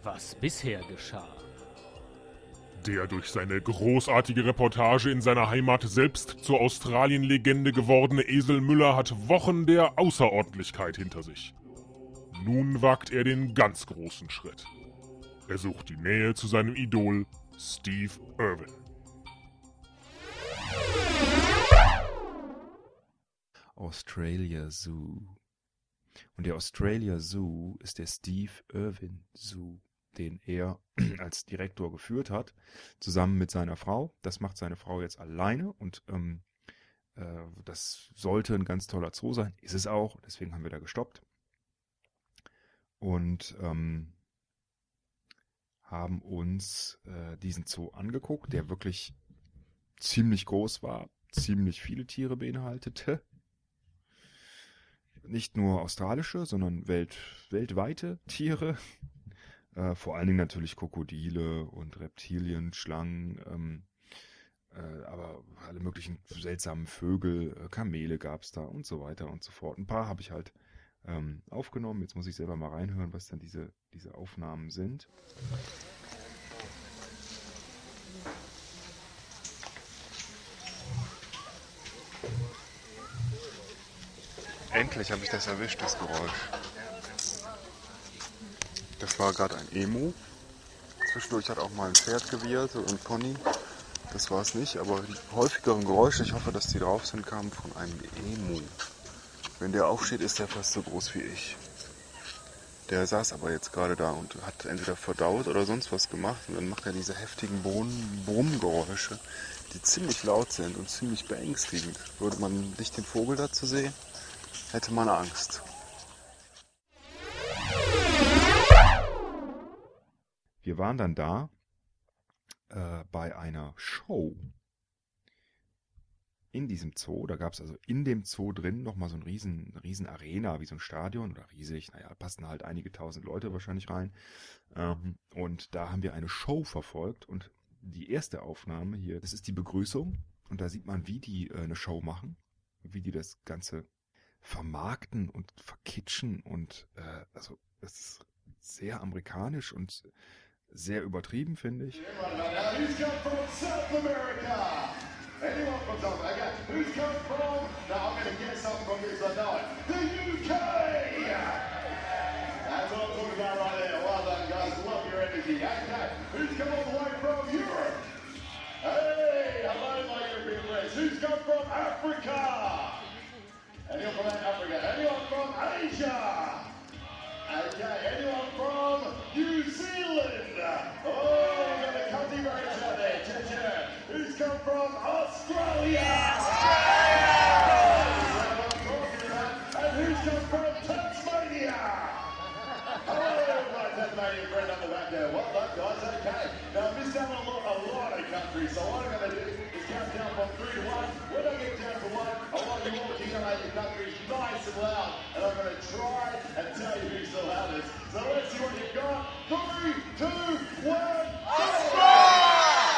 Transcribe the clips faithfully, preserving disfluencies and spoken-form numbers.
was bisher geschah. Der durch seine großartige Reportage in seiner Heimat selbst zur Australien-Legende gewordene Esel Müller hat Wochen der Außerordentlichkeit hinter sich. Nun wagt er den ganz großen Schritt. Er sucht die Nähe zu seinem Idol Steve Irwin. Australia Zoo. Und der Australia Zoo ist der Steve Irwin Zoo, den er als Direktor geführt hat, zusammen mit seiner Frau. Das macht seine Frau jetzt alleine und ähm, äh, das sollte ein ganz toller Zoo sein. Ist es auch, deswegen haben wir da gestoppt. Und ähm, haben uns äh, diesen Zoo angeguckt, der wirklich ziemlich groß war, ziemlich viele Tiere beinhaltete. Nicht nur australische, sondern welt, weltweite Tiere. Äh, vor allen Dingen natürlich Krokodile und Reptilien, Schlangen, ähm, äh, aber alle möglichen seltsamen Vögel, äh, Kamele gab es da und so weiter und so fort. Ein paar habe ich halt ähm, aufgenommen. Jetzt muss ich selber mal reinhören, was dann diese, diese Aufnahmen sind. Endlich habe ich das erwischt, das Geräusch. Das war gerade ein Emu. Zwischendurch hat auch mal ein Pferd gewieert, so ein Pony. Das war es nicht, aber die häufigeren Geräusche, ich hoffe, dass die drauf sind, kamen von einem Emu. Wenn der aufsteht, ist der fast so groß wie ich. Der saß aber jetzt gerade da und hat entweder verdaut oder sonst was gemacht. Und dann macht er diese heftigen Brummgeräusche, die ziemlich laut sind und ziemlich beängstigend. Würde man nicht den Vogel dazu sehen, hätte man Angst. Wir waren dann da äh, bei einer Show in diesem Zoo. Da gab es also in dem Zoo drin nochmal so eine riesen, riesen Arena, wie so ein Stadion oder riesig. Naja, passen halt einige tausend Leute wahrscheinlich rein. Ähm, und da haben wir eine Show verfolgt. Und die erste Aufnahme hier, das ist die Begrüßung. Und da sieht man, wie die äh, eine Show machen, wie die das Ganze vermarkten und verkitschen. Und äh, also das ist sehr amerikanisch und sehr übertrieben, finde ich. Anyone from South America? Who's come from? Now I'm going to get something from this, I know it. The U K! That's what I'm talking about right there. Well done, guys. Love your energy. Okay, who's come all the way from Europe? Hey, hello, my European friends. Who's come from Africa? Anyone from Africa? Anyone from Asia? Okay, anyone from New Zealand? Oh, we've got the country roads out there. Check, check. Who's come from Australia? Australia! And who's come from Tasmania? Hello, my Tasmanian friend up the back there. Well done, guys. Okay. Now, I've missed out on a lot, a lot of countries, so what I'm going to do is count down from three to one. When I get down to one, I want you all to yell out your countries nice and loud, and I'm going to try and tell you who's the loudest. So let's see what you've got. Three, two, one. Australia!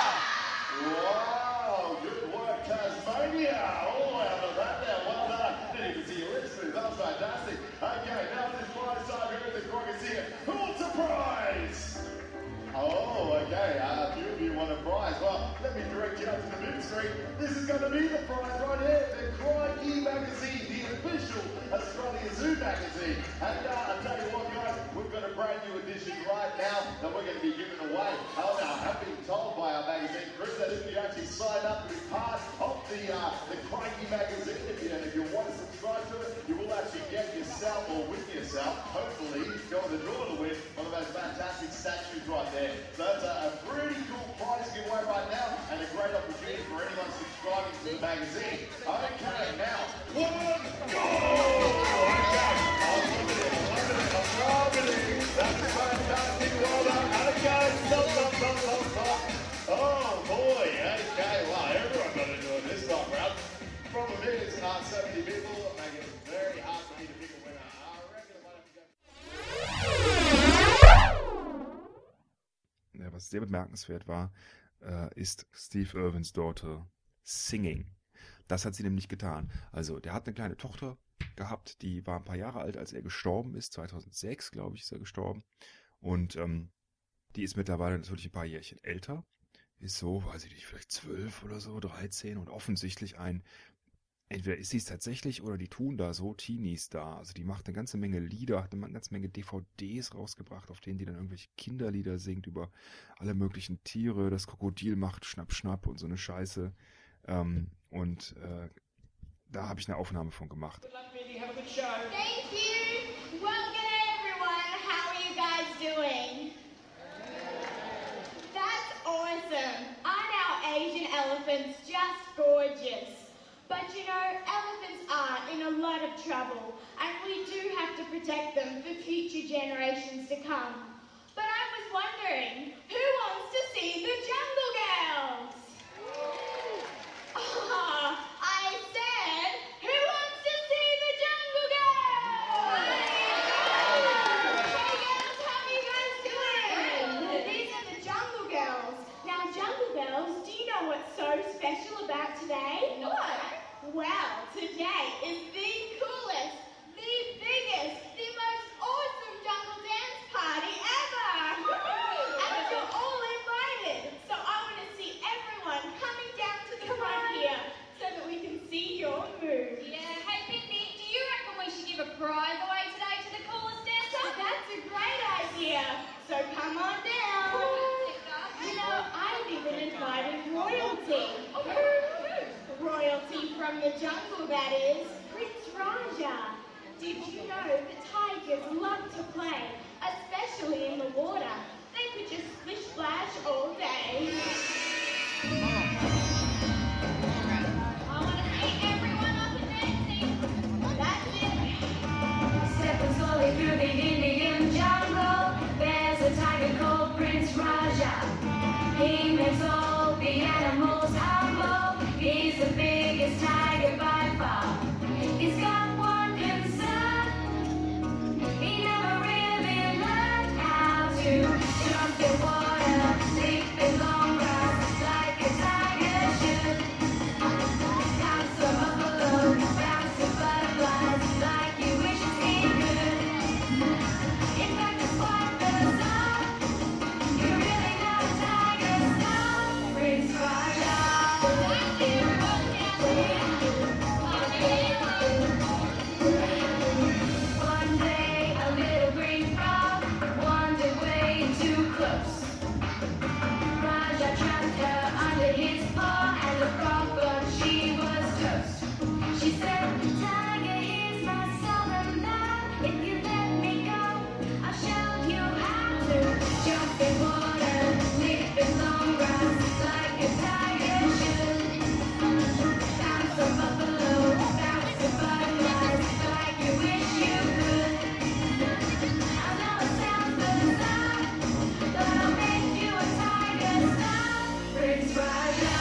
Wow, good work, Tasmania. Oh, how about that there? Well done. Didn't even see your lips move. That was fantastic. Okay, now this prize side here at the Crockett here. Who wants a prize? Oh, okay. Uh, a few of you want a prize. Well, let me direct you out to the mid street. This is going to be the prize right here. The Crikey magazine, the official Australia Zoo magazine. And uh, I'll tell you what, guys, we've got a brand new edition right now that we're going to be giving away. Oh, now, I have been told by our magazine crew that if you actually sign up to be part of the uh, the Crikey magazine, if you, if you want to subscribe to it, you will actually get yourself or win yourself, hopefully, go on the draw to win one of those fantastic statues right there. So that's a, a pretty cool prize to give away right now and a great opportunity for anyone subscribing to the magazine. Okay, now, one, go! Okay, I'm loving it, I'm loving it, I'm loving it. That's fantastic, well done. Okay, stop, stop, stop, stop, stop. Oh boy, okay, wow, everyone got to do it this time round. Problem is, uh, so many people make it very hard for me to pick a winner. I reckon I might have to go. Ja, was sehr bemerkenswert war, äh, ist Steve Irwins Daughter Singing. Das hat sie nämlich getan. Also, der hat eine kleine Tochter gehabt, die war ein paar Jahre alt, als er gestorben ist. zweitausendsechs, glaube ich, ist er gestorben. Und ähm, Die ist mittlerweile natürlich ein paar Jährchen älter. Ist so, weiß ich nicht, vielleicht zwölf oder so, dreizehn und offensichtlich ein, entweder ist sie es tatsächlich oder die tun da so Teenies da. Also die macht eine ganze Menge Lieder, hat eine ganze Menge D V Ds rausgebracht, auf denen die dann irgendwelche Kinderlieder singt über alle möglichen Tiere. Das Krokodil macht Schnapp, Schnapp und so eine Scheiße. Ähm, und äh, da habe ich eine Aufnahme von gemacht. Good luck, Mindy. Have a good show. Thank you. Well, g'day everyone. How are you guys doing? That's awesome. Aren't our Asian elephants just gorgeous? But you know, elephants are in a lot of trouble, and we do have to protect them for future generations to come. But I was wondering, who wants to see the Jungle Girls? Ah, I said, who wants to see the Jungle Girls? Hey girls, how are you guys doing? These are the Jungle Girls. Now, Jungle Girls, do you know what's so special about today? What? Well, today is the coolest, the biggest, the most awesome jungle dance party ever! And you're all invited, so I want to see everyone coming down to the front here so that we can see your moves. Yeah, hey Mindy, do you reckon we should give a prize away today to the coolest dancer? That's a great idea, so come on down. You know, I've even invited royalty. Royalty from the jungle, that is, Prince Raja. Did you know that tigers love to play, especially in the water? They could just splish splash all day. I want to see everyone up and dancing. That's it. Stepping slowly through the Indian jungle, there's a tiger called Prince Raja. He makes all the animals humble. He's the biggest tiger by far. He's got one concern. He never really learned how to jump in water, leap in long grass like a tiger should. Bounce a buffalo, bounce a butterflies like he wishes he could. In fact, it's quite bizarre. You're really not a tiger star, Prince Raja. One day, a little green frog wandered way too close. Raja trapped her under his paw, and the frog thought she was toast. She said, "Tiger, here's my southern man. If you let me go, I'll show you how to jump in water, leap in long grass like a tiger should. Bounce a buffalo, bounce a butterflies like you wish you could." I know it sounds bizarre, but I'll make you a tiger star, Prince Raja.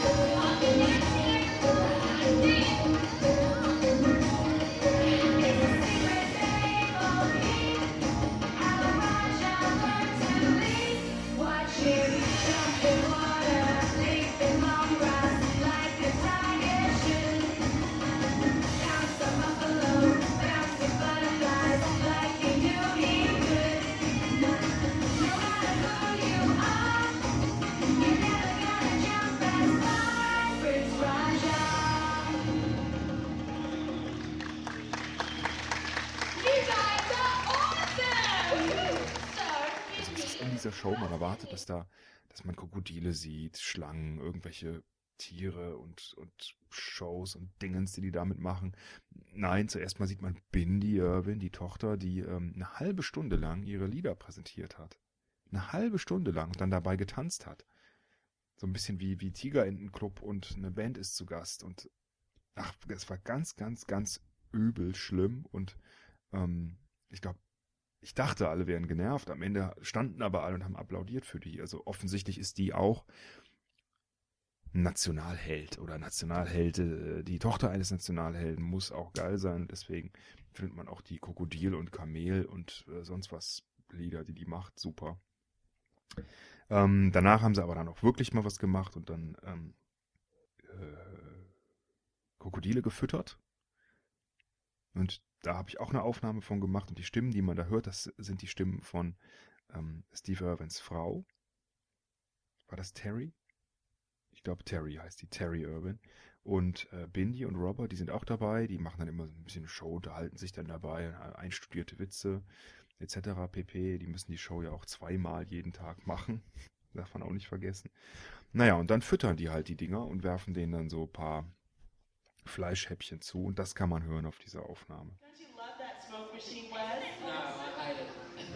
It's a secret they all keep, how Raja learned to leap. Watch him jump in water, leap in long grass like a tiger should. Bounce a buffalo, bounce a butterflies like he knew he could. No matter who you are, you're never gonna jump as far as Prince Raja. You guys are awesome! So, Also es ist in dieser Show, man erwartet, dass da, dass man Krokodile sieht, Schlangen, irgendwelche Tiere und, und Shows und Dingens, die die damit machen. Nein, zuerst mal sieht man Bindi Irwin, die Tochter, die ähm, eine halbe Stunde lang ihre Lieder präsentiert hat. Eine halbe Stunde lang und dann dabei getanzt hat. So ein bisschen wie, wie Tigerentenclub und eine Band ist zu Gast. Und ach, es war ganz, ganz, ganz übel schlimm und ähm, ich glaube, ich dachte, alle wären genervt. Am Ende standen aber alle und haben applaudiert für die. Also offensichtlich ist die auch Nationalheld oder Nationalheld. Die Tochter eines Nationalhelden muss auch geil sein. Deswegen findet man auch die Krokodil- und Kamel- und äh, sonst was Lieder, die die macht, super. Ähm, danach haben sie aber dann auch wirklich mal was gemacht und dann ähm, äh, Krokodile gefüttert. Und da habe ich auch eine Aufnahme von gemacht und die Stimmen, die man da hört, das sind die Stimmen von ähm, Steve Irwins Frau. War das Terry? Ich glaube, Terry heißt die, Terry Irwin. Und äh, Bindi und Robert, die sind auch dabei. Die machen dann immer so ein bisschen Show, unterhalten sich dann dabei, äh, einstudierte Witze et cetera pp. Die müssen die Show ja auch zweimal jeden Tag machen. Darf man auch nicht vergessen. Naja, und dann füttern die halt die Dinger und werfen denen dann so ein paar Fleischhäppchen zu. Und das kann man hören auf dieser Aufnahme. Don't you love that smoke machine, Wes? No, I hate it.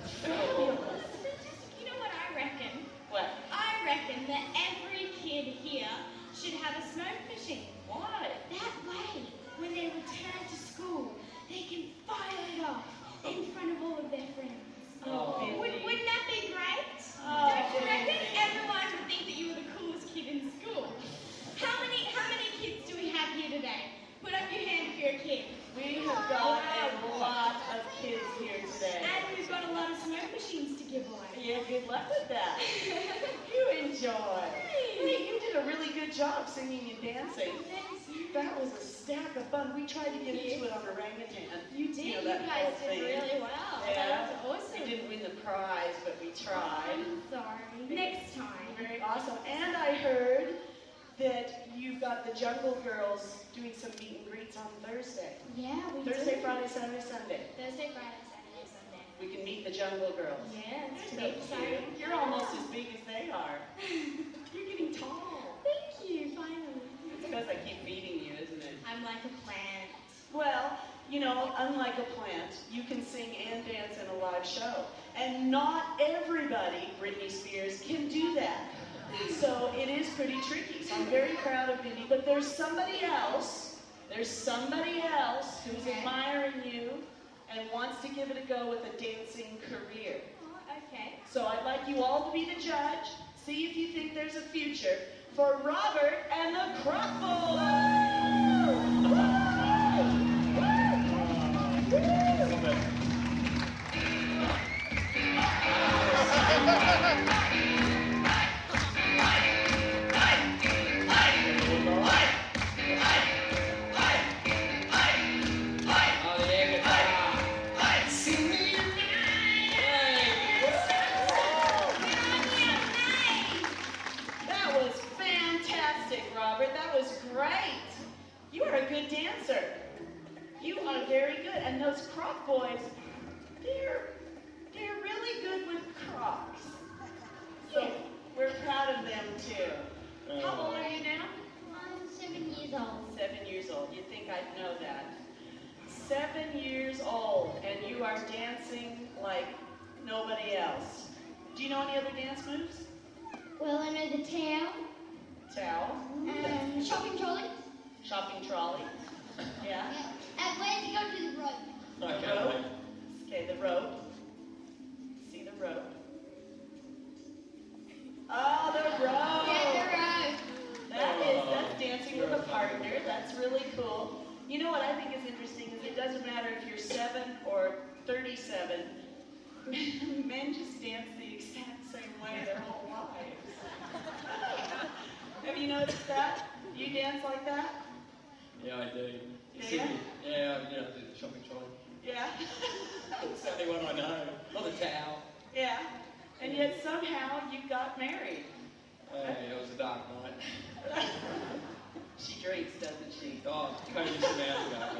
You know what I reckon? What? I reckon that every kid here should have a smoke machine. Why? That way, when they return to school, they can fire it off in front of all of their friends. Oh, Would, Bindi. wouldn't that be great? Oh, Don't you reckon? Bindi. Everyone would think that you were the coolest kid in school. How many how many kids do we have here today? Put up your hand if you're a kid. We have got a lot of kids here today. And we've got a lot of smoke machines to give away. Yeah, good luck with that. You enjoy. Hey, you did a really good job singing and dancing. That was a stack of fun. We tried to get into it on orangutan. You did. You know, You that guys whole did thing. really well. Yeah. That was awesome. We didn't win the prize, but we tried. I'm sorry. Next time. Very awesome. And I heard that you've got the Jungle Girls doing some meet and greets on Thursday. Yeah, we Thursday, do. Friday, Saturday, Sunday. Thursday, Friday, Saturday, Sunday. We can meet the Jungle Girls. Yeah, it's You're pretty so exciting. cute. You're almost as big as they are. You're getting tall. Thank you, finally. It's because I keep feeding you, isn't it? I'm like a plant. Well, you know, unlike a plant, you can sing and dance in a live show. And not everybody, Britney Spears, can do that. So it is pretty tricky. So I'm very proud of Bindi. But there's somebody else, there's somebody else who's Okay. admiring you and wants to give it a go with a dancing career. Oh, okay. So I'd like you all to be the judge. See if you think there's a future for Robert and the Croc Oh, the air guitar. That was fantastic, Robert. That was great. You are a good dancer. You are very good. And those Croc boys, they're they're really good with Crocs. So we're proud of them too. How old are you now? I'm seven years old. Seven years old. You'd think I'd know that. Seven years old, and you are dancing like nobody else. Do you know any other dance moves? Well, I know the tail, Towel, um, shopping trolley. shopping trolley. Yeah. And where to go to the road? Rope. Okay, the rope. See the rope. Oh, the rope. road. That is, that's dancing with a partner. That's really cool. You know what I think is interesting is it doesn't matter if you're seven or thirty-seven. Men just dance the exact same way their whole lives. Have you noticed that? You dance like that? Yeah, I do. Do It's ya? Sydney. Yeah, you know, the shopping trolley. Yeah. It's the only one I know. Or the towel. Yeah. And yet somehow you got married. Hey, it was a dark night. She drinks, doesn't she? Oh, Cody some hours ago.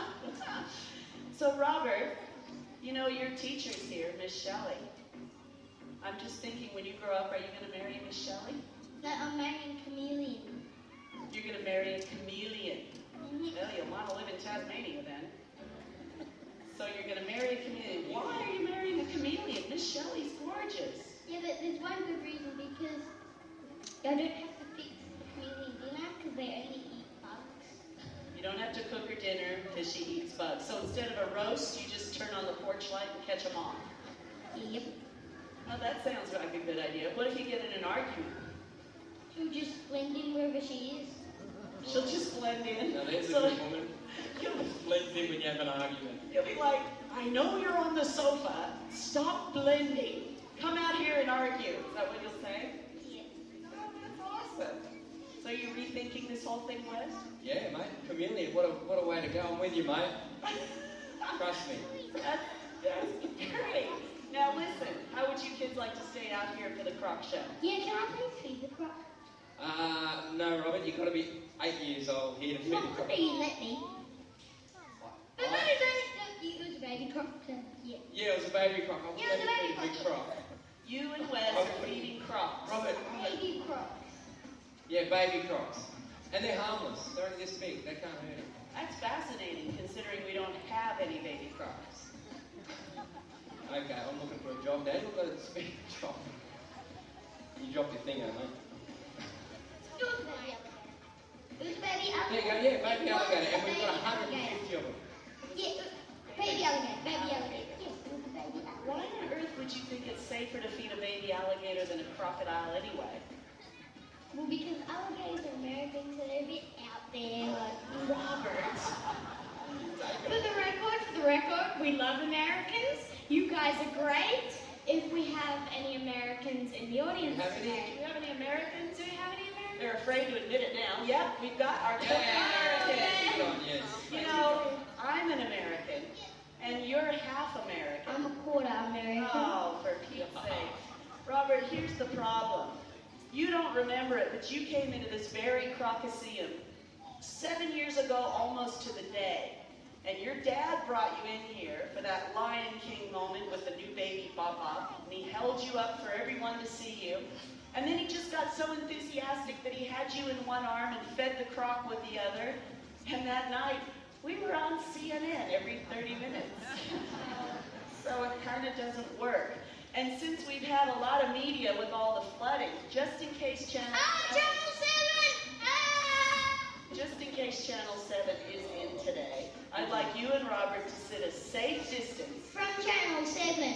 So Robert, you know your teacher's here, Miss Shelley. I'm just thinking, when you grow up, are you going to marry Miss Shelley? No, I'm marrying Chameleon. You're going to marry a chameleon. Well, you'll want to live in Tasmania then. So you're going to marry a chameleon. Why are you marrying a chameleon? Miss Shelley's gorgeous. Yeah, but there's one good reason, because I don't have to fix the chameleon dinner because they only eat bugs. You don't have to cook her dinner because she eats bugs. So instead of a roast, you just turn on the porch light and catch them all. Yep. Well, that sounds like a good idea. What if you get in an argument? She'll just blend in wherever she is. She'll just blend in. Now, there's a So good woman. you'll, Blends in when you have an argument. you'll be like, I know you're on the sofa. Stop blending. Come out here and argue. Is that what you'll say? Yeah. Oh, that's awesome. So you're rethinking this whole thing, Wes? Yeah, mate. Chameleon, what a, what a way to go. I'm with you, mate. Trust me. That's, that's great. Now listen, how would you kiss like to stay out here for the croc show? Yeah, can I please feed the croc? Uh, no, Robert, you've got to be eight years old here to feed Not a croc. that you let me. But no, I- no, no, it was a baby croc. So, yeah. Yeah, it was a baby croc. I was Yeah, it was going a to baby feed a big croc. croc. You and Wes are feeding crocs. Robert, Baby croc. yeah, baby crocs. And they're harmless. They're only this big. They can't hurt him. That's fascinating, considering we don't have any baby crocs. Okay, I'm looking for a job, Dad. Look at this big job. You dropped your finger, mate. It was a baby alligator. It was a baby There alligator. you go, yeah, baby It was alligator. a And we've got baby one hundred alligator. fifty of them. Yeah, baby alligator. Baby alligator. Yes, it was a baby Why alligator. on earth would you think it's safer to feed a baby alligator than a crocodile anyway? Well, because alligators are Americans and they're a bit out there. Robert. For the record, for the record, we love Americans. You guys are great. If we have any Americans in the audience Have any? Do today, we have any Americans? do we have any Americans? They're afraid to admit it now. Yep, we've got our Yeah, couple Americans. good on, yes. You know, I'm an American, and you're half American. I'm a quarter American. Oh, for Pete's sake. Robert, here's the problem. You don't remember it, but you came into this very Crocaseum seven years ago, almost to the day. And your dad brought you in here for that Lion King moment with the new baby Papa, and he held you up for everyone to see you. And then he just got so enthusiastic that he had you in one arm and fed the croc with the other. And that night, we were on C N N every thirty minutes. So it kind of doesn't work. And since we've had a lot of media with all the flooding, just in case Channel Ah, Channel seven! Ah! just in case Channel seven is in today, I'd like you and Robert to sit a safe distance. From Channel seven.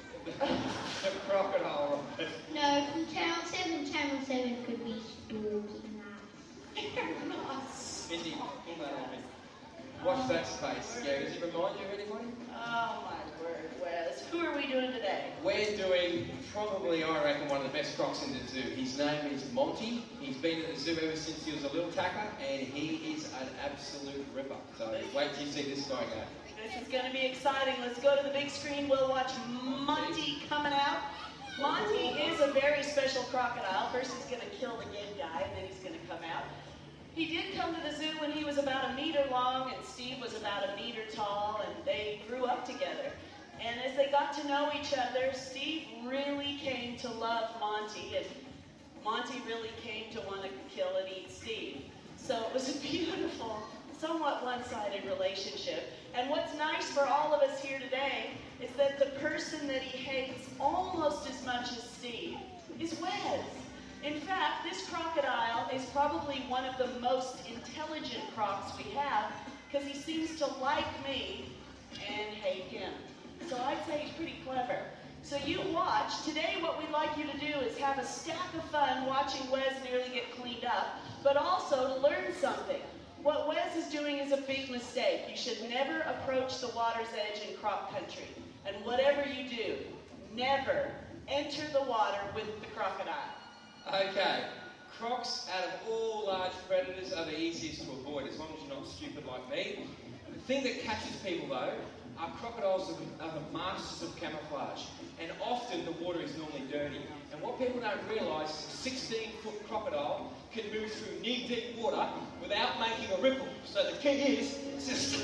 The crocodile, Robert. No, from Channel seven. Channel seven could be spooky nice. You're not. Mindy, pull that on me. Watch that space. Yeah, does it remind you of anybody? Oh my word, Wes. Who are we doing today? We're doing probably, I reckon, one of the best crocs in the zoo. His name is Monty. He's been at the zoo ever since he was a little tacker, and he is an absolute ripper. So wait till you see this guy go. This is going to be exciting. Let's go to the big screen. We'll watch Monty coming out. Monty is a very special crocodile. First he's going to kill the good guy, and then he's going to come out. He did come to the zoo when he was about a meter long, and Steve was about a meter tall, and they grew up together. And as they got to know each other, Steve really came to love Monty, and Monty really came to want to kill and eat Steve. So it was a beautiful, somewhat one-sided relationship. And what's nice for all of us here today is that the person that he hates almost as much as Steve is Wes. In fact, this crocodile is probably one of the most intelligent crocs we have because he seems to like me and hate him. So I'd say he's pretty clever. So you watch. Today what we'd like you to do is have a stack of fun watching Wes nearly get cleaned up, but also to learn something. What Wes is doing is a big mistake. You should never approach the water's edge in croc country. And whatever you do, never enter the water with the crocodile. Okay, crocs out of all large predators are the easiest to avoid as long as you're not stupid like me. The thing that catches people though are crocodiles are the, are the masters of camouflage, and often the water is normally dirty. And what people don't realise is a sixteen foot crocodile can move through knee-deep water without making a ripple. So the key is just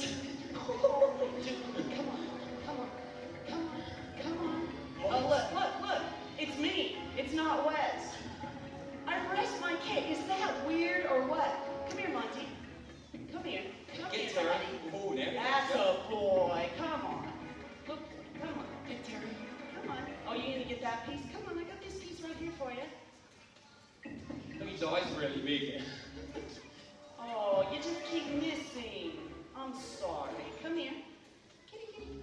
Come on, come on, come on, come on. Oh, look, look, look. It's me. It's not Wes. I rest my case. Is that weird or what? Come here, Monty. Come here. Come get here, Terry. buddy. Oh, now That's a boy. Come on. Look, come on. Get Terry. Come on. Oh, you gonna get that piece? Come on, I got this piece right here for you. Look, his eyes are really big. Oh, you just keep missing. I'm sorry. Come here. Kitty, kitty.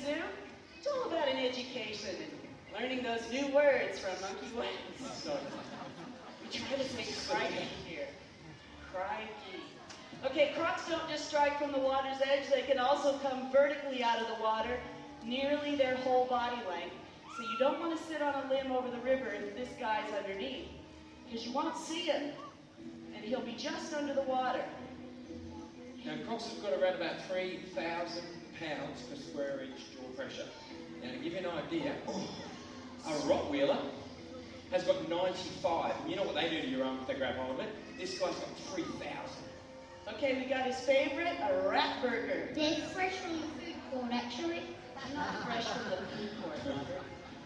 do? It's all about an education and learning those new words from Monkey Ways. So, We try to say crikey here. Crikey. Okay, crocs don't just strike from the water's edge, they can also come vertically out of the water, nearly their whole body length. So you don't want to sit on a limb over the river if this guy's underneath, because you won't see him, and he'll be just under the water. now, crocs have got around about three thousand pounds per square inch jaw pressure. Now, to give you an idea, a Rottweiler has got ninety-five. And you know what they do to your arm if they grab hold of it? This guy's got three thousand. Okay, we got his favorite, a rat burger. They're fresh from the food court, actually. Not fresh from the food court, Robert.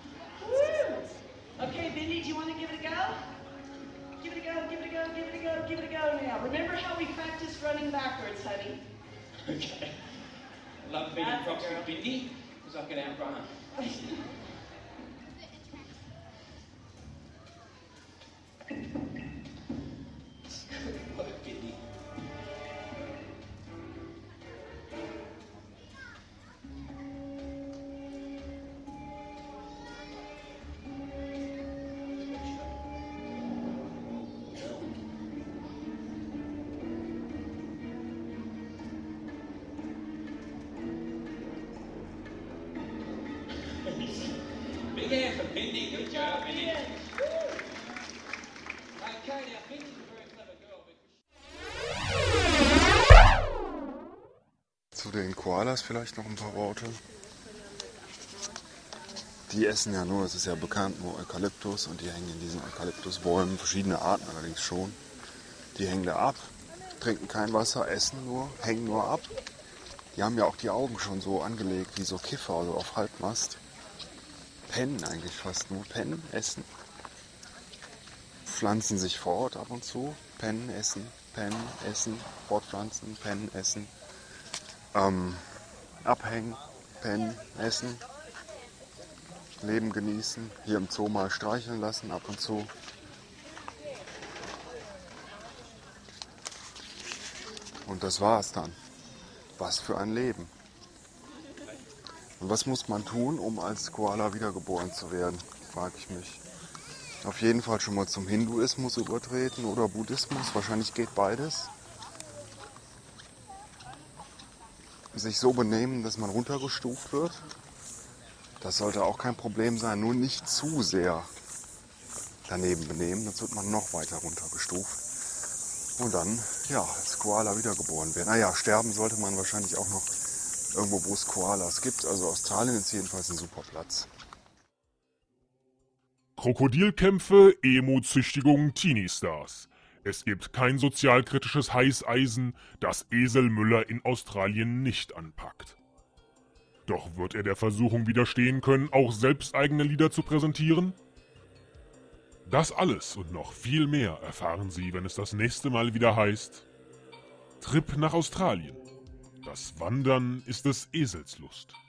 Woo! Okay, Bindi, do you want to give it a go? Give it a go, give it a go, give it a go, give it a go now. Remember how we practiced running backwards, honey? Okay. I love feeding That's crocs a girl. with Bindi because I can outrun her. Good work, Bindi. Big hand for Bindi. Good job, Bindi. Ian. Woo! Okay, now Bindi's a very clever girl. Because Zu den Koalas vielleicht noch ein paar Worte. Die essen ja nur, es ist ja bekannt, nur Eukalyptus und die hängen in diesen Eukalyptusbäumen, verschiedene Arten allerdings schon. Die hängen da ab, trinken kein Wasser, essen nur, hängen nur ab. Die haben ja auch die Augen schon so angelegt wie so Kiffer, also auf Halbmast. Pennen eigentlich fast nur, pennen, essen. Pflanzen sich fort ab und zu, pennen, essen, pennen, essen, fortpflanzen, pennen, essen. Ähm, abhängen, pennen, essen. Leben genießen, hier im Zoo mal streicheln lassen ab und zu. Und das war's dann. Was für ein Leben. Und was muss man tun, um als Koala wiedergeboren zu werden, frage ich mich. Auf jeden Fall schon mal zum Hinduismus übertreten oder Buddhismus, wahrscheinlich geht beides. Sich so benehmen, dass man runtergestuft wird. Das sollte auch kein Problem sein, nur nicht zu sehr daneben benehmen, sonst wird man noch weiter runtergestuft. Und dann, ja, als Koala wiedergeboren werden. Naja, sterben sollte man wahrscheinlich auch noch irgendwo, wo es Koalas gibt. Also Australien ist jedenfalls ein super Platz. Krokodilkämpfe, Emu-Züchtigung, Teenie-Stars. Es gibt kein sozialkritisches Heißeisen, das Esel Müller in Australien nicht anpackt. Doch wird er der Versuchung widerstehen können, auch selbst eigene Lieder zu präsentieren? Das alles und noch viel mehr erfahren Sie, wenn es das nächste Mal wieder heißt: Trip nach Australien. Das Wandern ist des Esels Lust.